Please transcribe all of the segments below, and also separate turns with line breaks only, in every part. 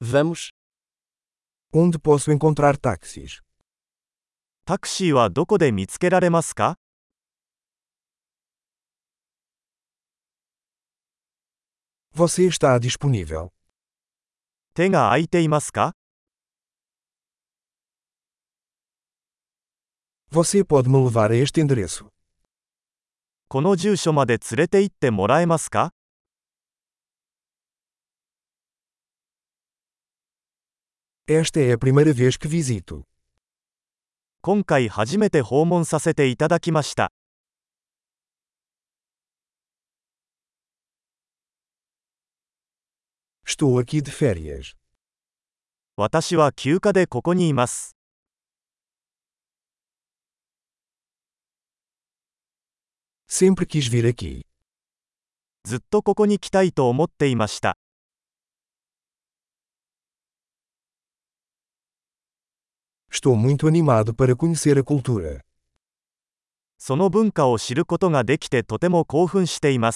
Vamos.
Onde posso encontrar táxis?
タクシーはどこで見つけられますか？
Você está disponível?
手が空いていますか？
Você pode me levar a este endereço?
この住所まで連れて行ってもらえますか？
Esta é a primeira vez que visito.
今回初めて訪問させていただきました。
Estou aqui de férias.
私は休暇でここにいます。
Sempre quis vir aqui.
ずっとここに来たいと思っていました。
Estou muito animado para conhecer a cultura.
その文化を知ることができてとても興奮しています。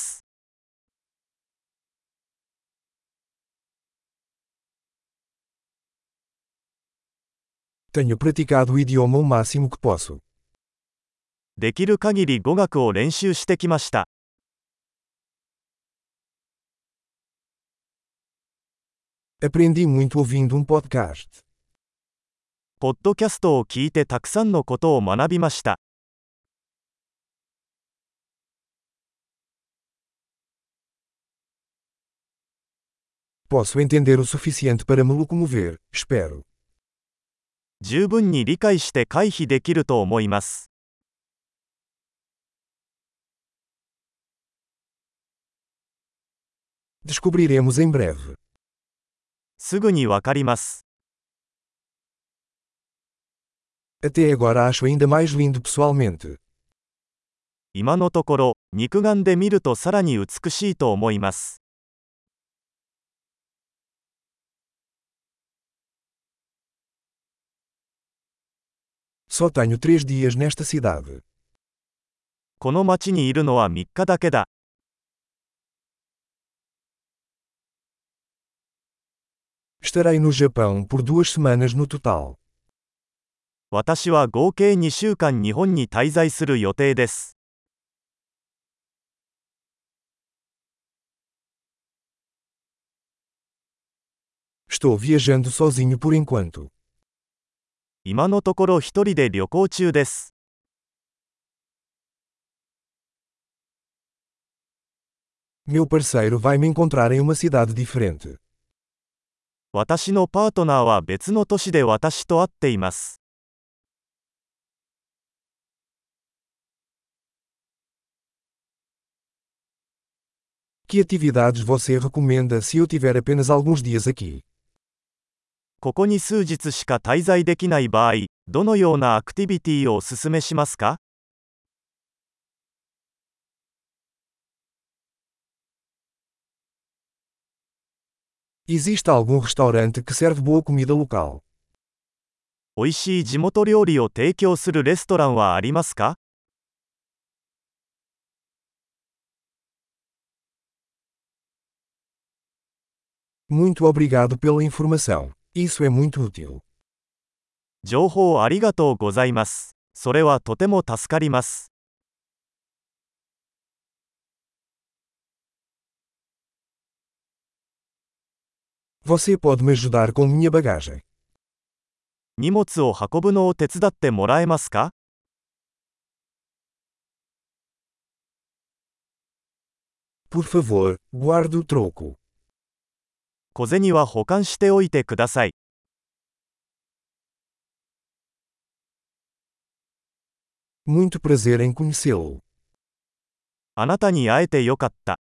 Tenho praticado o idioma o máximo que posso.
できる限り語学を練習してきました。
Aprendi muito ouvindo podcast.
ポッドキャストを聞いてたくさんのことを学びました。
Posso entender o suficiente para me locomover, espero.
十分に理解して回避できると思います。
Descobriremos em breve.
すぐにわかります。
Até agora acho ainda mais lindo pessoalmente.
今のところ、肉眼で見るとさらに美しいと思います。
Só tenho 3 dias nesta cidade.
この町にいるのは3日だけだ。
Estarei no Japão por 2 semanas no total.
私は合計2週間日本に滞在する予定です。
Estou viajando sozinho por enquanto.
今のところ一人で旅行中です。
Meu parceiro vai me encontrar em uma cidade diferente.
私のパートナーは別の都市で私と会っています。
Que atividades você recomenda se eu tiver apenas alguns dias aqui?
ここに数日しか滞在できない場合、どのようなアクティビティをお勧めしますか？
Existe algum restaurante que serve boa comida local?
おいしい地元料理を提供するレストランはありますか？
Muito obrigado pela informação. Isso é muito útil.
情報ありがとうございます。それはとても助かります。
Você pode me ajudar com minha bagagem?
荷物を運ぶのを手伝ってもらえますか？
Por favor, guarde o troco.
小銭は保管しておいてください。
Muito prazer em conhecê-lo.
あなたに会えてよかった。